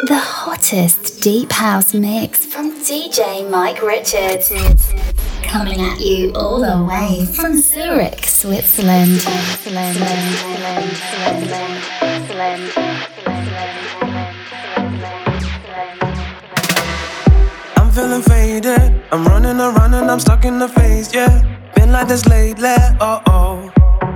the hottest deep house mix from DJ Mike Richards. Coming at you all the way from Zurich, Switzerland. I'm feeling faded, I'm running around and I'm stuck in the phase, yeah. Been like this lately, oh.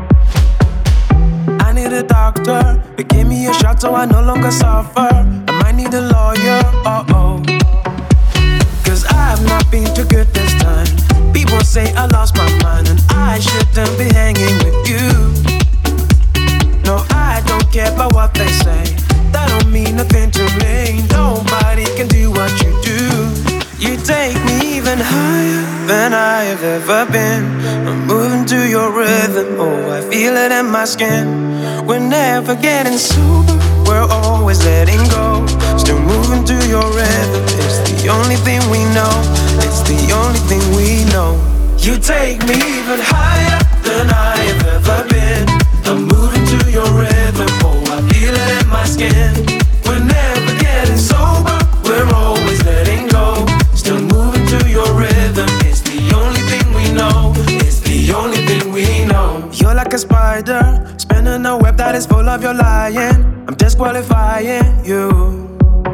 I need a doctor, but give me a shot so I no longer suffer. I might need a lawyer, oh. Cause I've not been too good this time. People say I lost my mind and I shouldn't be hanging with you. No, I don't care about what they say. That don't mean nothing to me. Nobody can do what you do. You take me even higher than I have ever been. I'm moving to your rhythm, oh, I feel it in my skin. We're never getting sober, we're always letting go. Still moving to your rhythm, it's the only thing we know. It's the only thing we know. You take me even higher than I have ever been. I'm moving to your rhythm, oh, I feel it in my skin. We're never getting sober, we're always letting go. Still moving to your rhythm, it's the only thing we know. It's the only thing we know. You're like a spider, spinning a web that is full of your lying. I'm disqualifying you.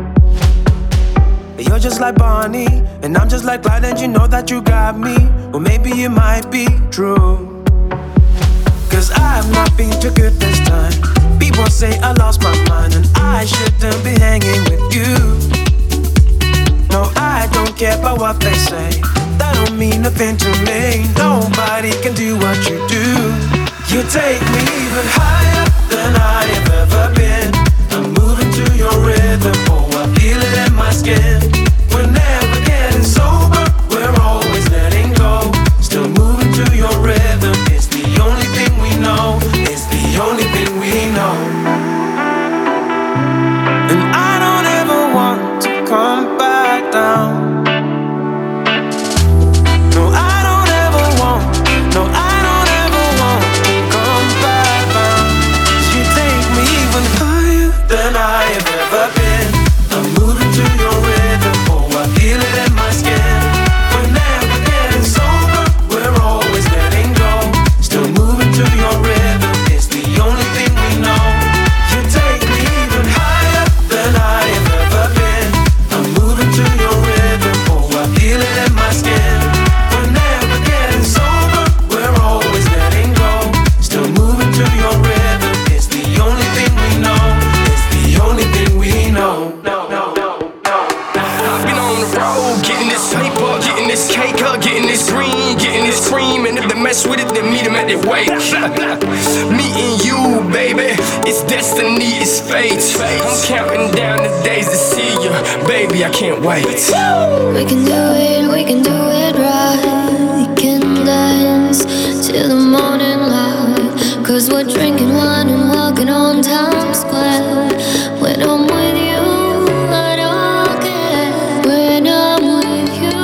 You're just like Bonnie, and I'm just like Clyde, and you know that you got me. Well, maybe it might be true. Cause I've not been too good this time. People say I lost my mind and I shouldn't be hanging with you. No, I don't care about what they say. That don't mean nothing to me. Nobody can do what you do. You take me even higher than I have ever been. I'm moving to your rhythm, oh, I feel it in my skin. We're never getting sober, we're always letting go. Still moving to your rhythm, it's the only thing we know. It's the only thing we know. And I don't ever want to come back down. No, I don't ever want, no, I don't ever want to come back down. You take me even higher than I have ever been. I'm moving to your rhythm, oh, I feel it in my skin. We're never getting sober, we're always letting go. Still moving to your rhythm, it's the only thing we know. You take me even higher than I have ever been. I'm moving to your rhythm, oh, I feel it in my skin. We're never getting sober, we're always letting go. Still moving to your rhythm, it's the only thing we know. It's the only thing we know. I've been on the road, getting this paper, getting this cake up, getting this green, getting this cream, and if they mess with it, then meet them at their wake. Meeting you, baby, it's destiny, it's fate. I'm counting down the days to see you, baby, I can't wait. We can do it right. We can dance till the morning light. Cause we're drinking wine and walking on Times Square. When I'm with you, I don't care. When I'm with you,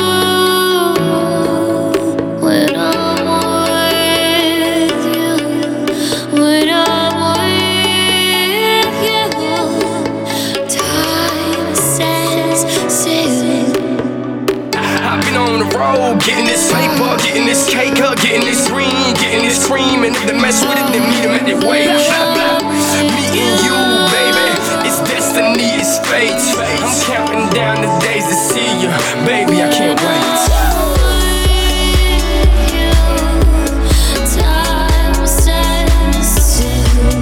when I'm with you, when I'm with you, time stands still. I've been on the road, getting this paper, getting this cake up, getting this green, getting this cream, and if they mess with it, then meet them at their wake. Meeting you, baby, it's destiny, it's fate. I'm counting down the days to see you, baby, I can't wait. Time stands still.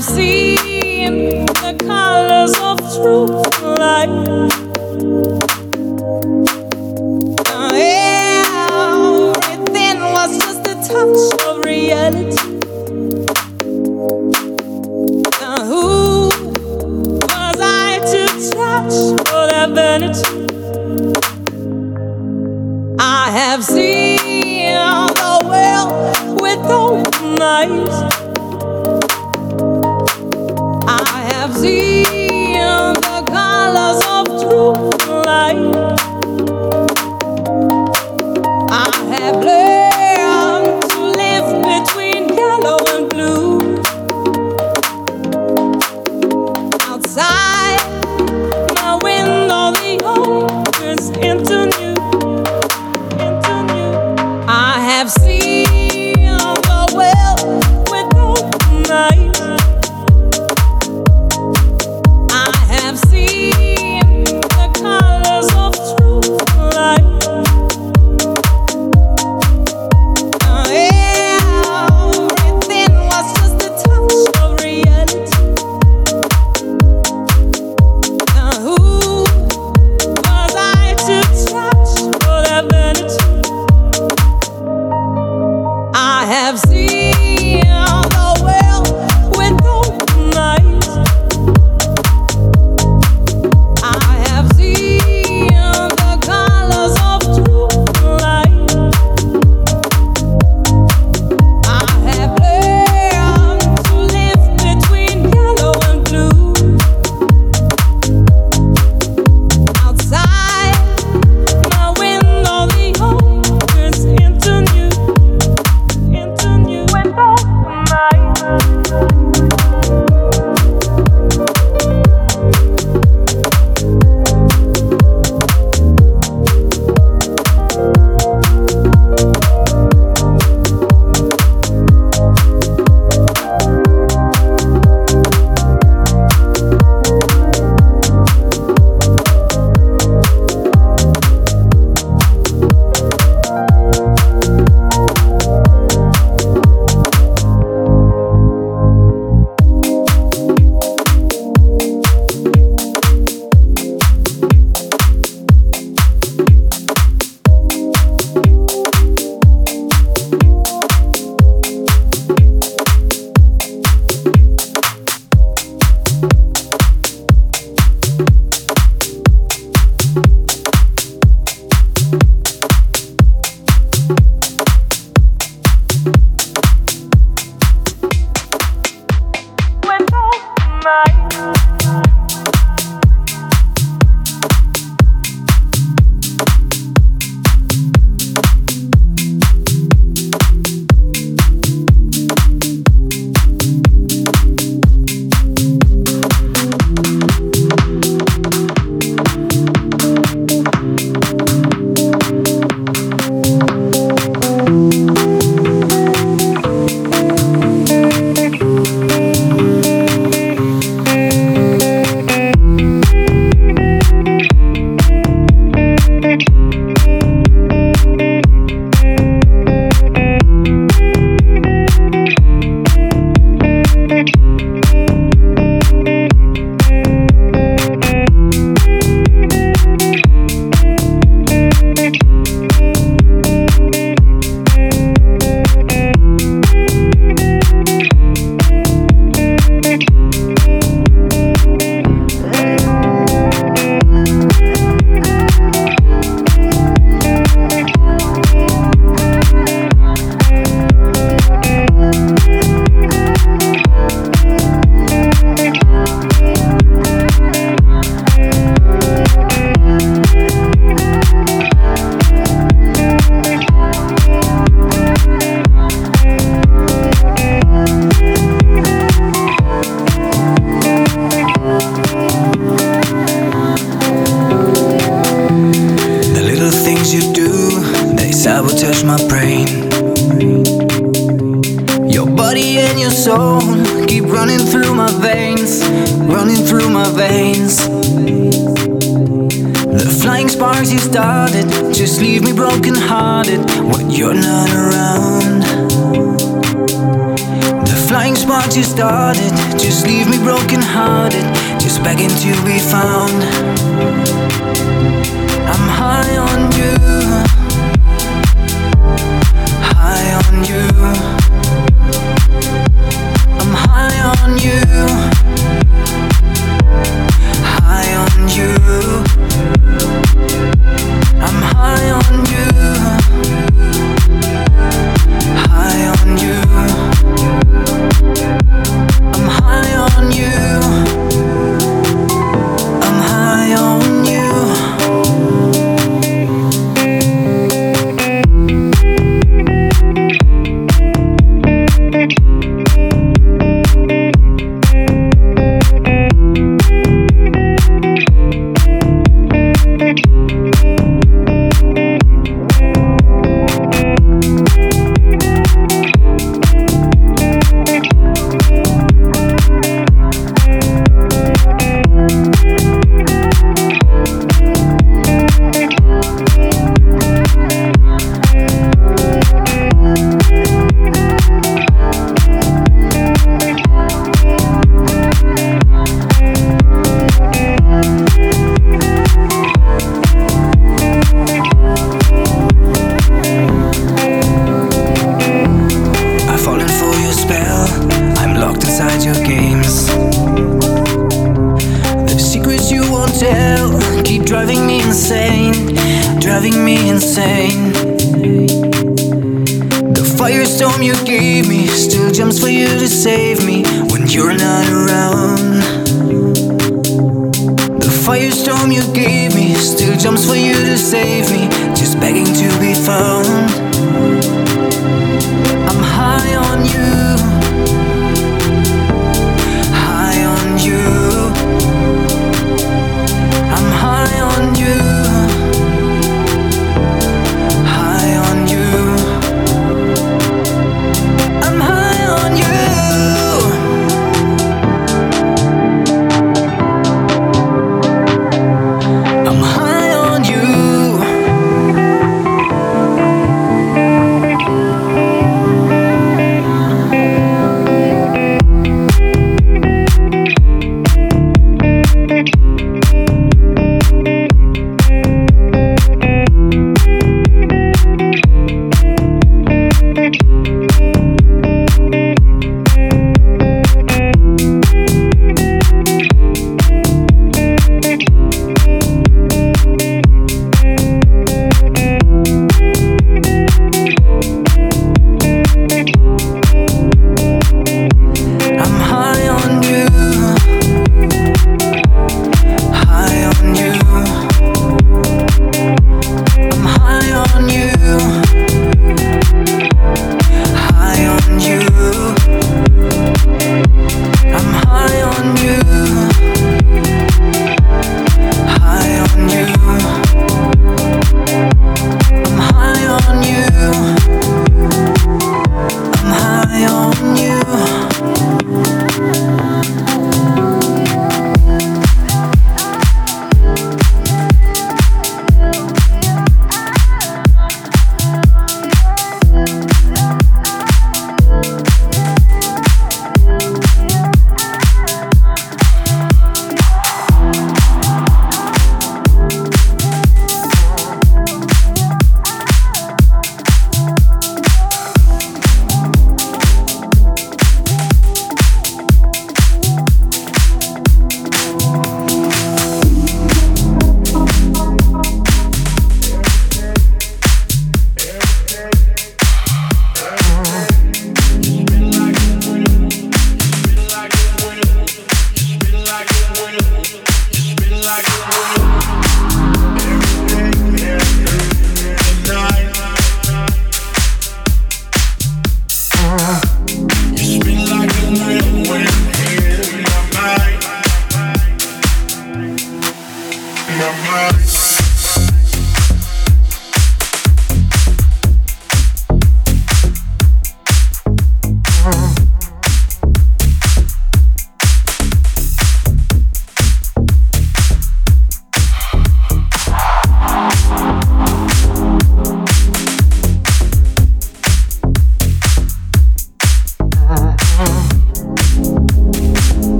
have seen the colors of true light. Everything was just a touch of reality. Who was I to touch for that vanity? I have seen the world with open eyes. I have seen the colors of true light. I have learned to live between yellow and blue. Outside my window, the old turns into new. I have seen the world with open eyes. I have seen the colors of true light. Everything was just a touch of reality. Who was I to touch for that vanity? I have seen the world with open eyes. I have seen the colors of true light. I have learned to live between yellow and blue. Outside my window, the old turns into new. With open eyes. sabotage my brain. Your body and your soul keep running through my veins, running through my veins. The flying sparks you started just leave me broken hearted when you're not around. The flying sparks what you started. Just leave me broken hearted, just begging to be found. I'm high on you, high on you. I'm high on you, high on you. I'm high on you, high on you. I'm high on you, I'm high on you.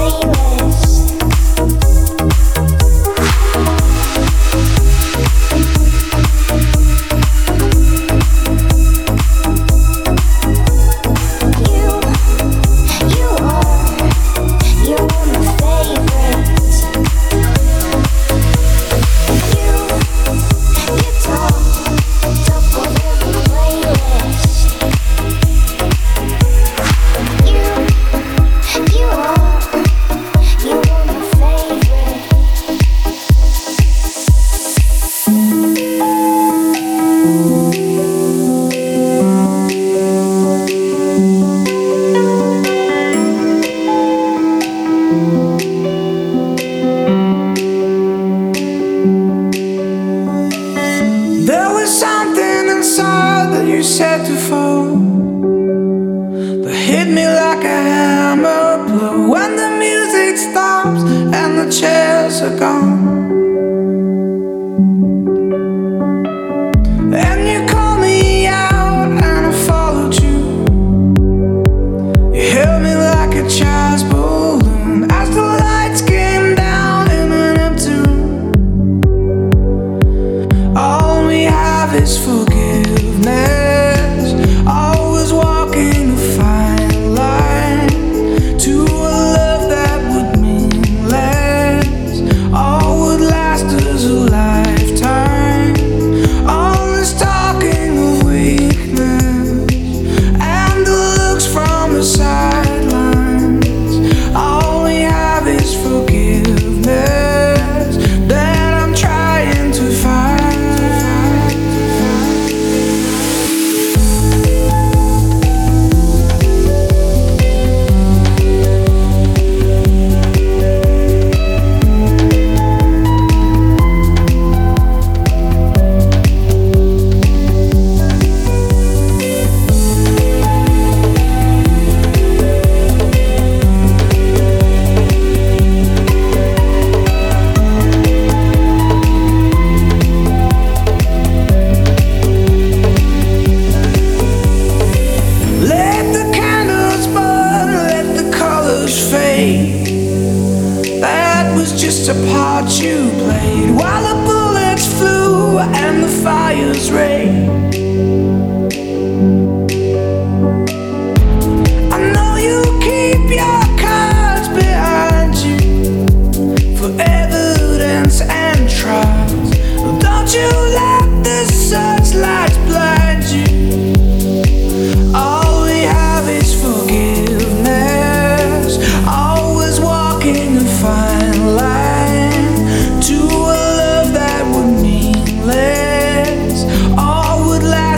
All would last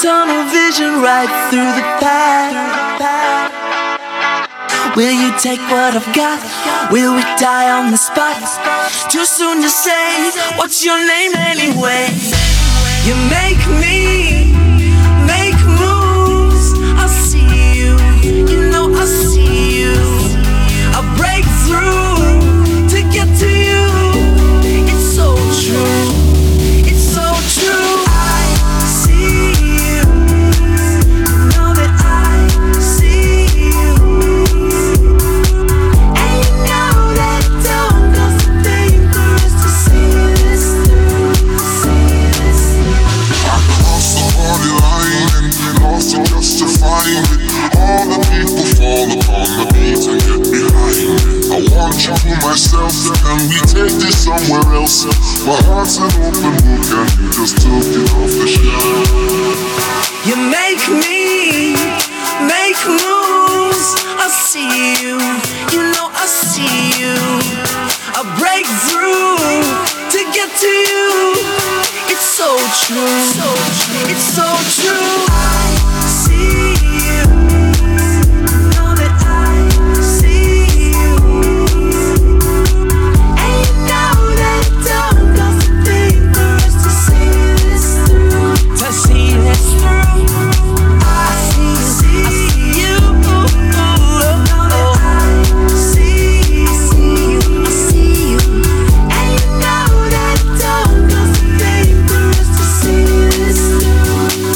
tunnel vision right through the path. Will you take what I've got? Will we die on the spot? Too soon to say. What's your name anyway? You make me make moves. I see you, you know I see you. I break through to get to you. It's so true, it's so true. I see you, you know that I see you. And you know that it don't cost a thing for us to see this through, see this through. I crossed the party line and lost it just to find it. All the people fall upon the beat and get behind it. I want you to myself, can we take this somewhere else? My heart's an open book and you just took it off the shelf. You make me make moves. I see you, you know I see you. I break through to get to you. It's so true, it's so true. I see you, know that I see you. And you know that it don't cost a thing for us to see this through, to see this through. I see you, know that I see you, I see you. And you know that it don't cost a thing for us to see this through.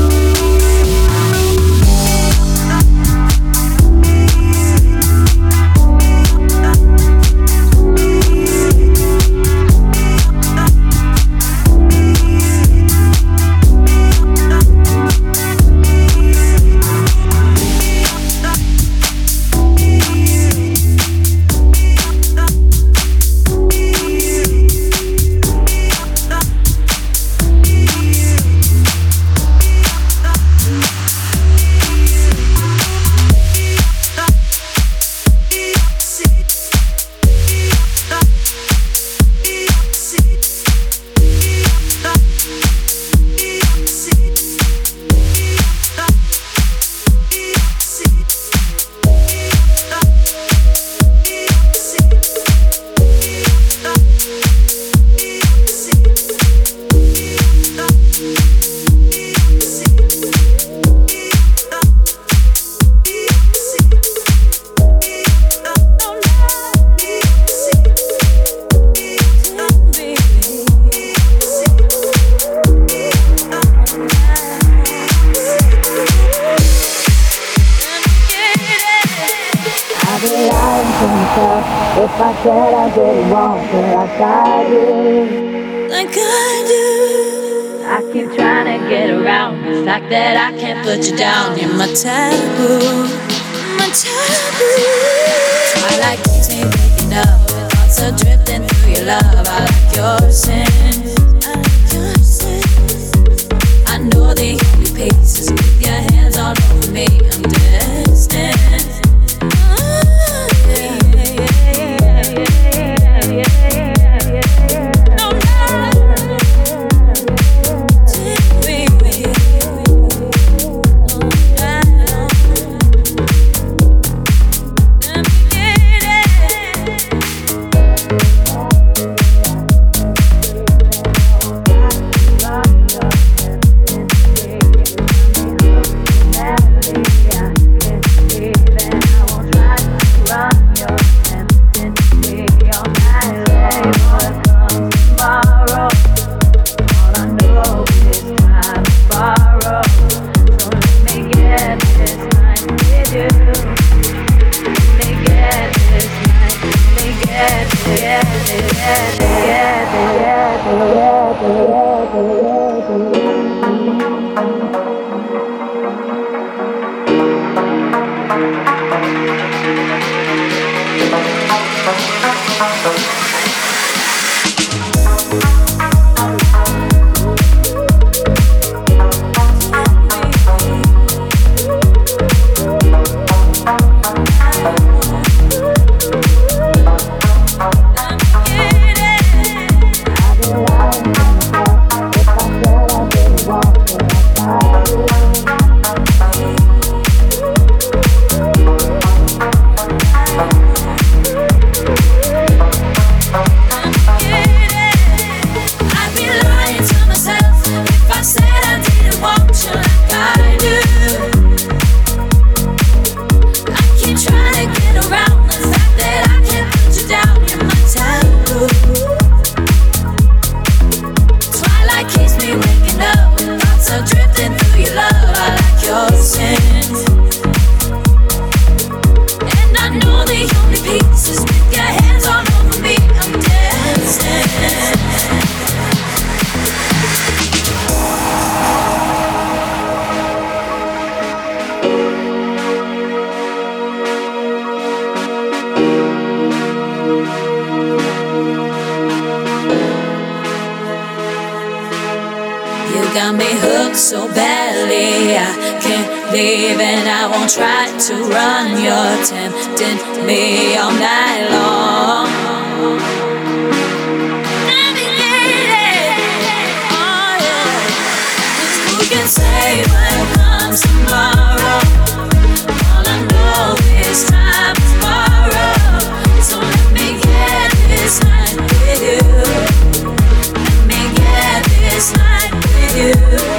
If I said I did it wrong, like I do, like I do. I keep trying to get around the fact that I can't put you down. You're my taboo, My taboo. Twilight keeps me waking up with thoughts are drifting through your love. I like your sin, I like your sin. I know the only pace is with your hands all over me. I'm destined. I like so badly. I can't leave and I won't try to run. You're tempting me all night long. Who can say what comes tomorrow? All I know is time is borrowed. So let me get this night with you. Let me get this night with you.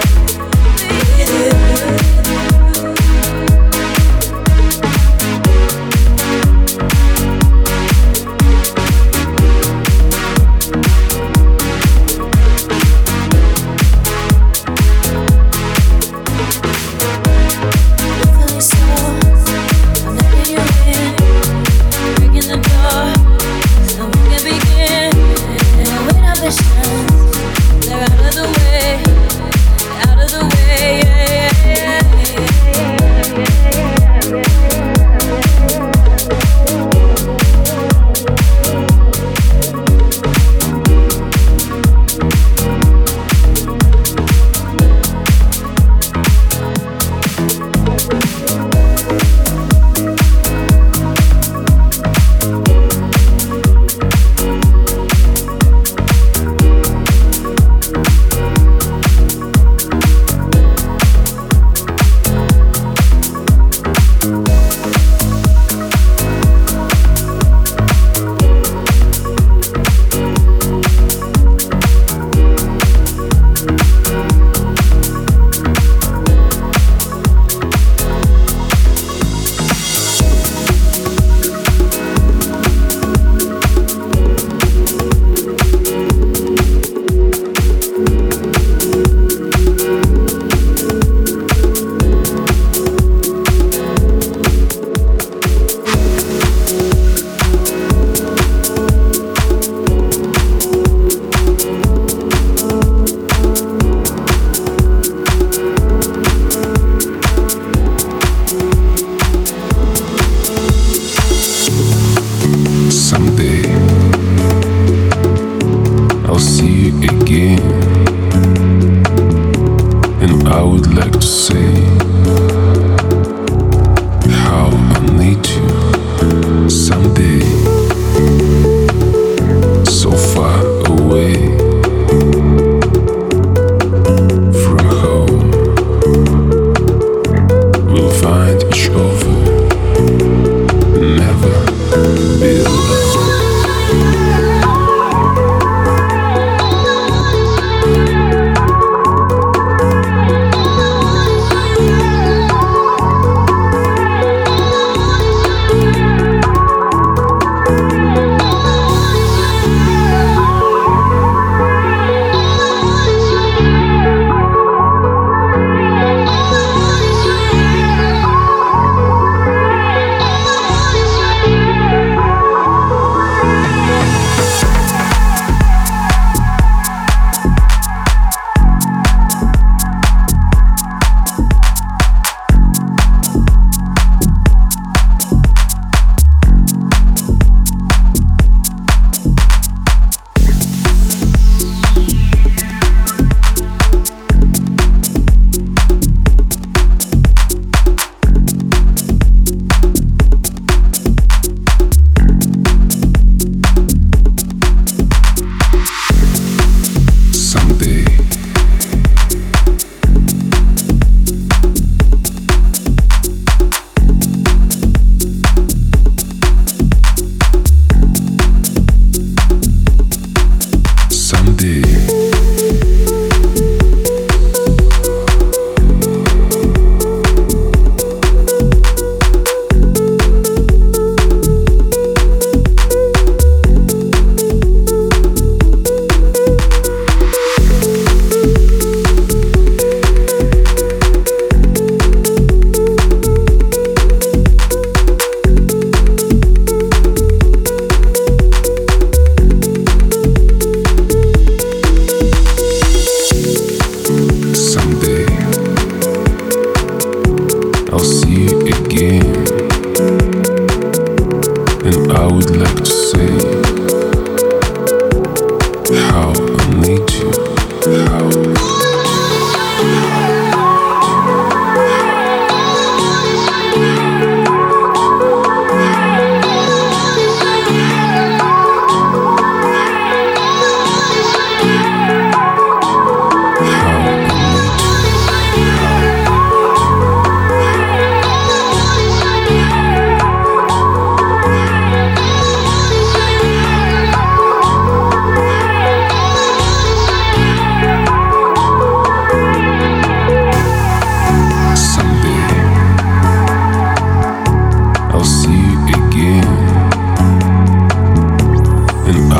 how I need you.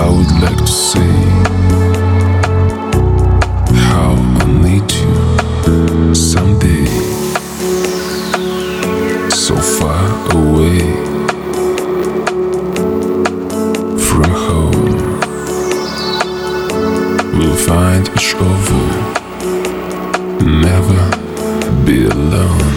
I would like to say how I need you someday. So far away from home, we'll find each other, never be alone.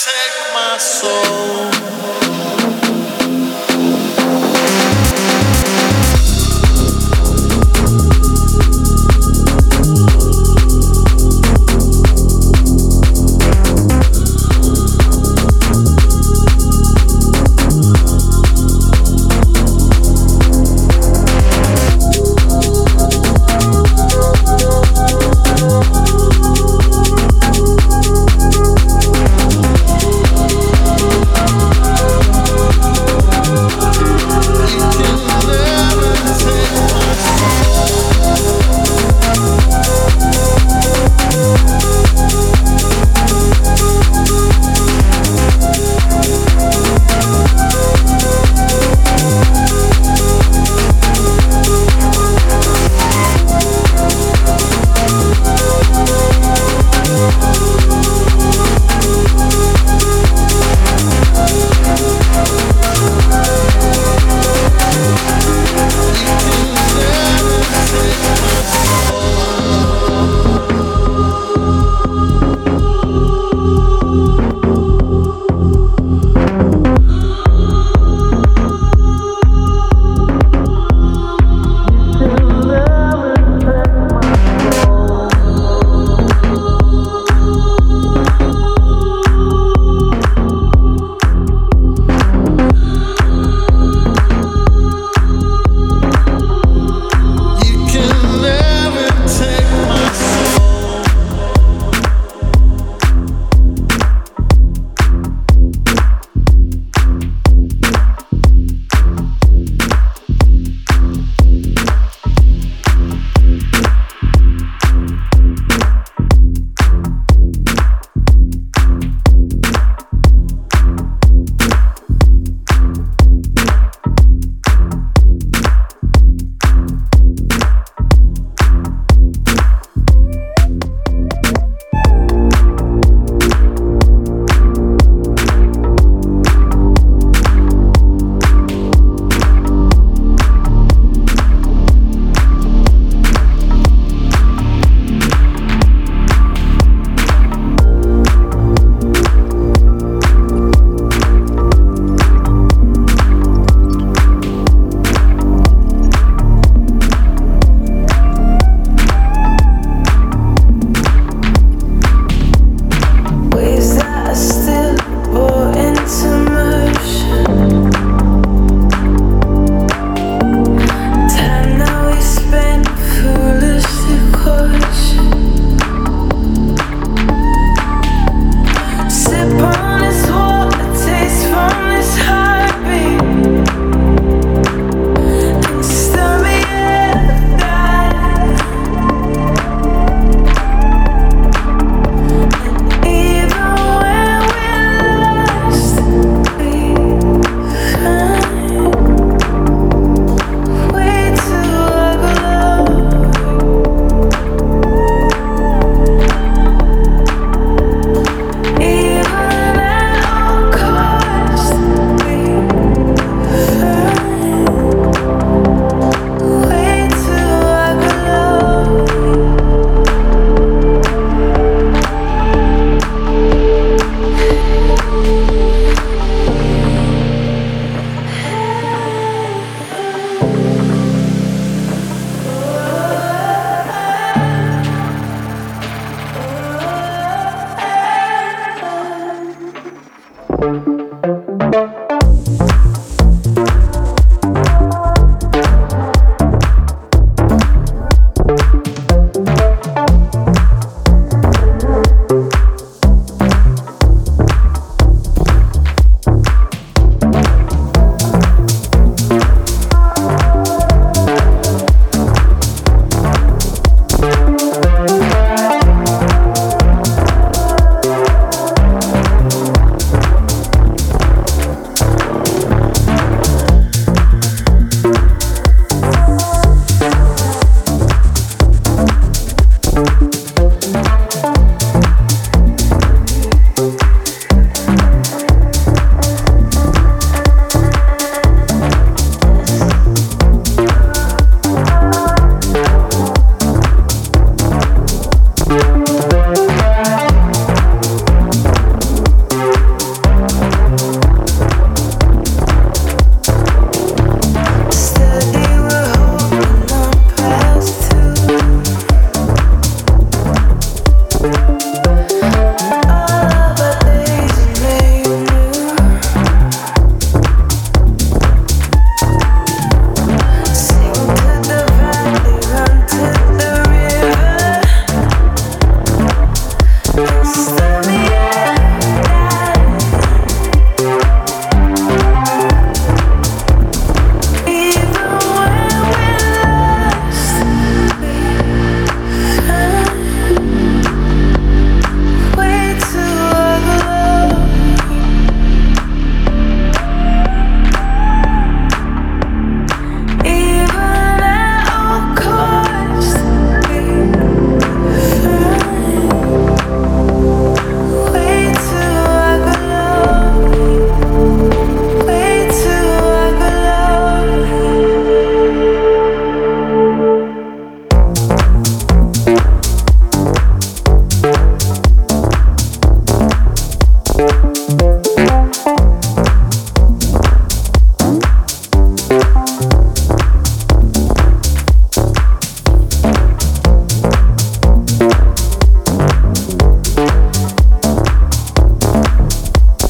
take my soul.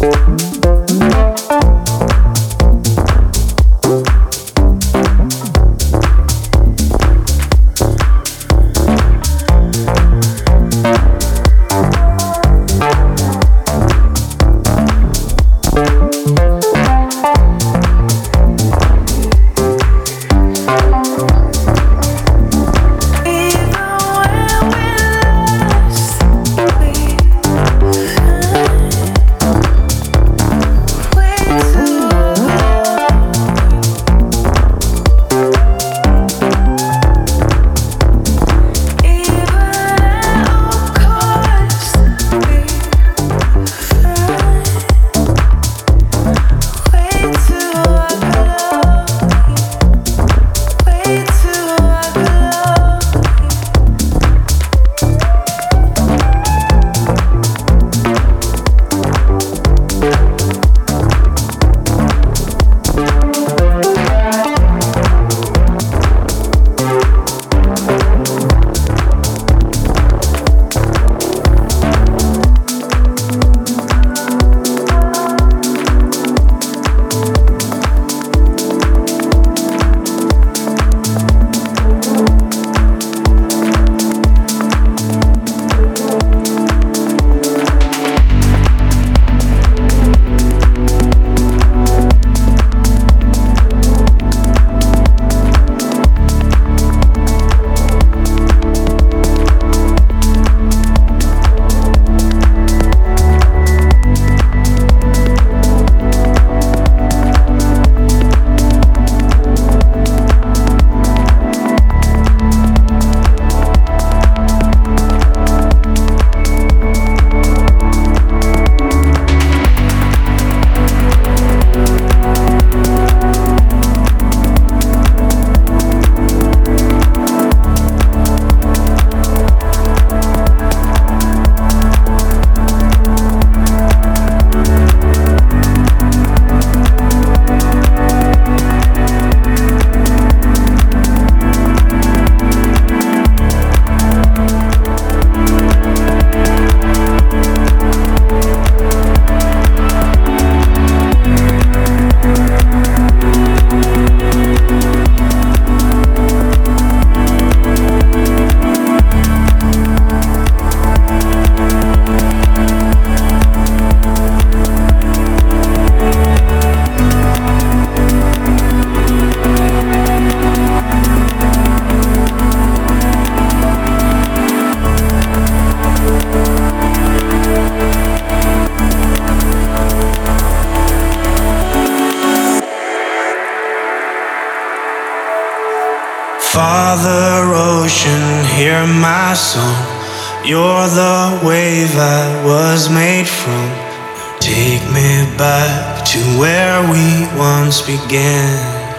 Father Ocean, hear my song. You're the wave I was made from. Take me back to where we once began.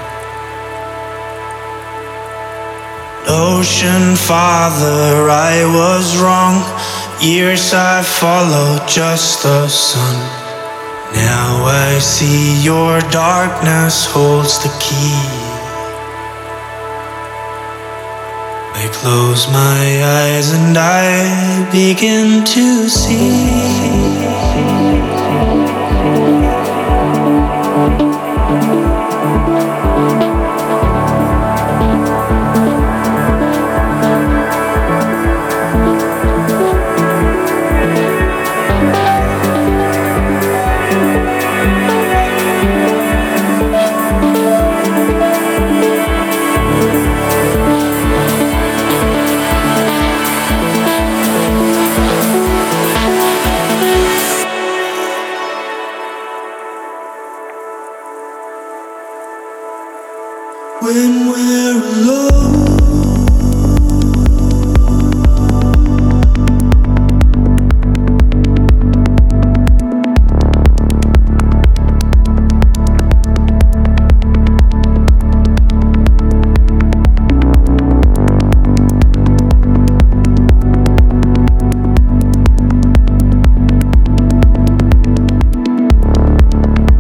Ocean Father, I was wrong. Years I followed just the sun. Now I see your darkness holds the key. I close my eyes and I begin to see. When we're alone,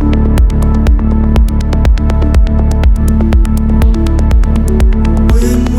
when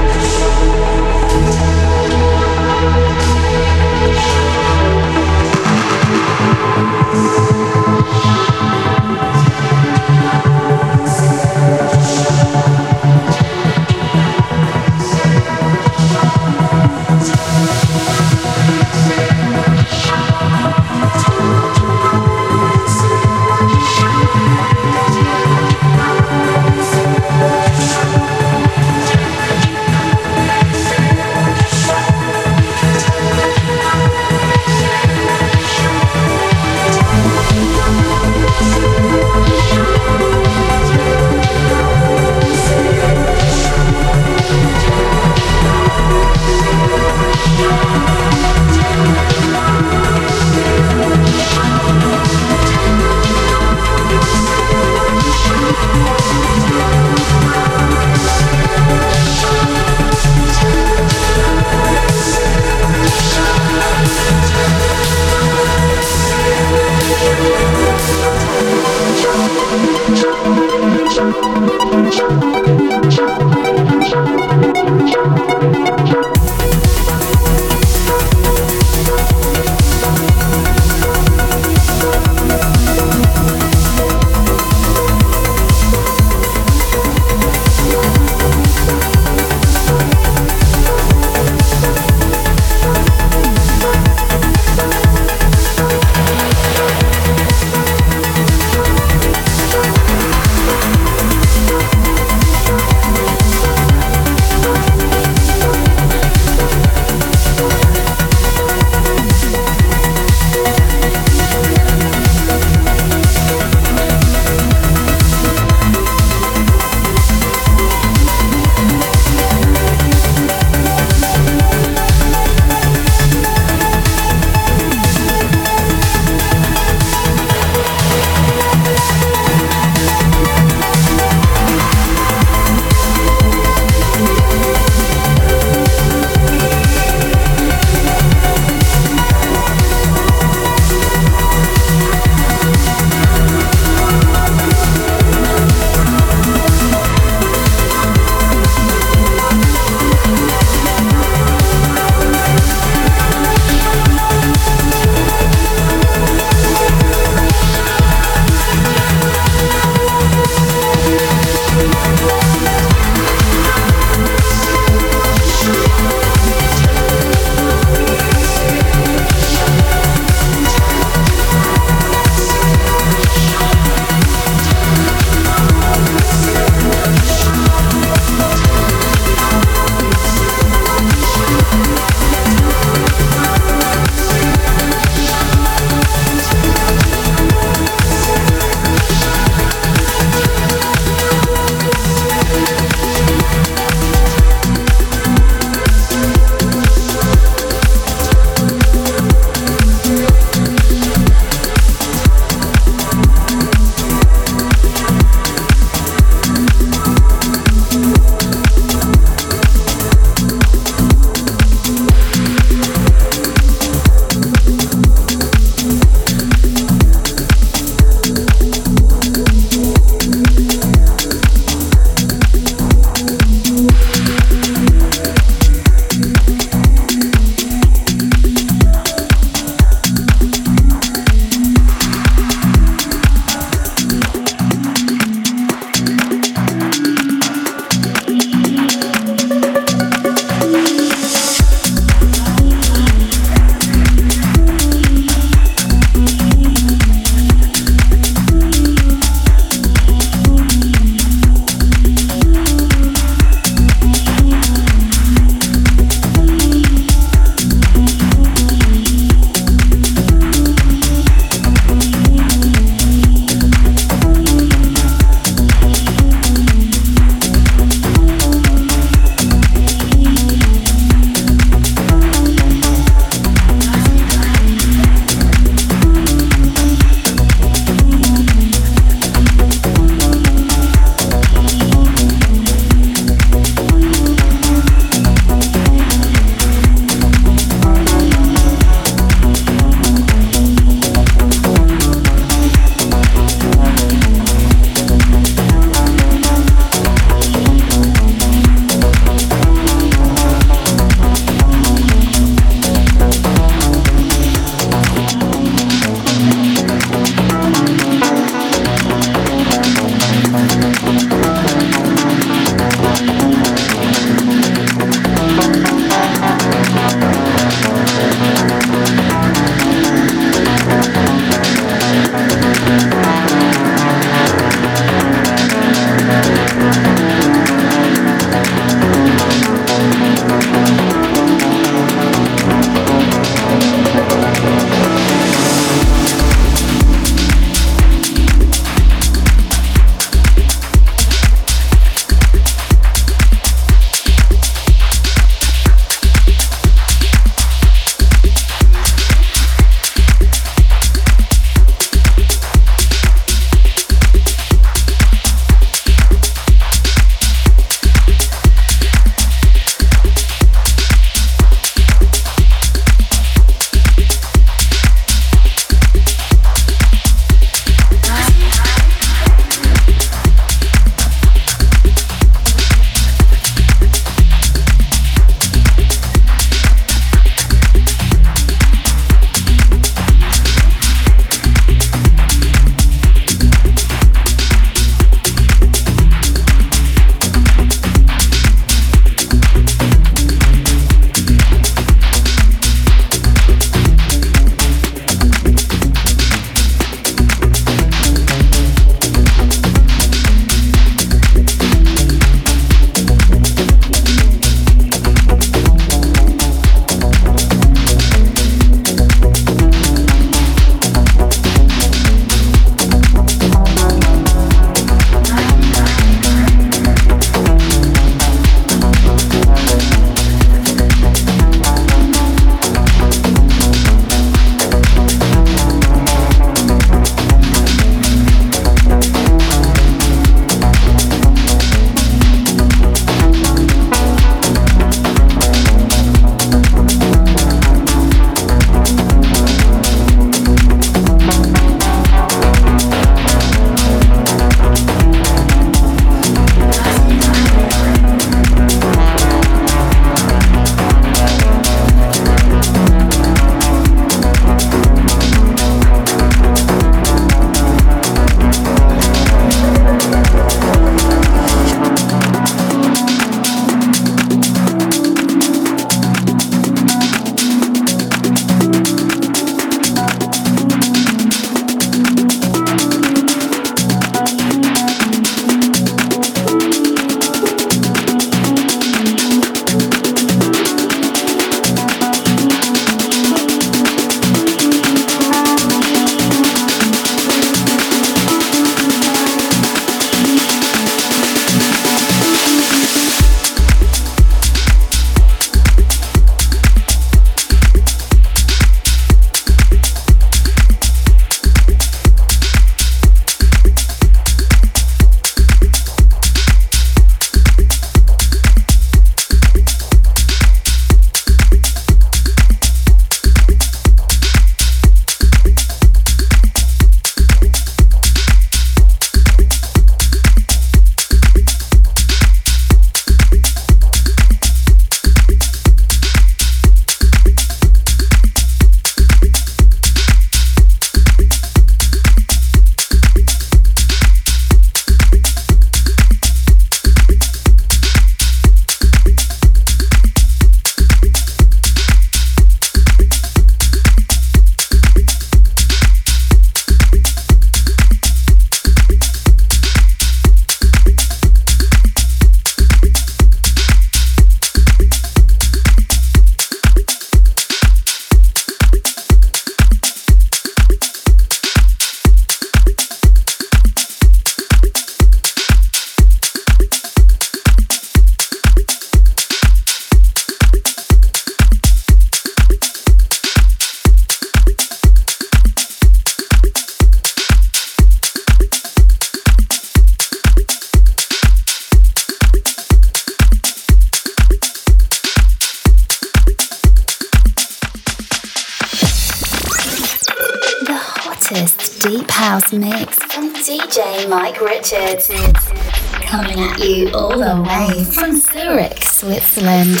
deep house mix from DJ Mike Richards. Coming at you all the way from Zurich, Switzerland.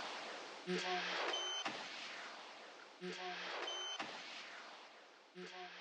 Mm-hmm.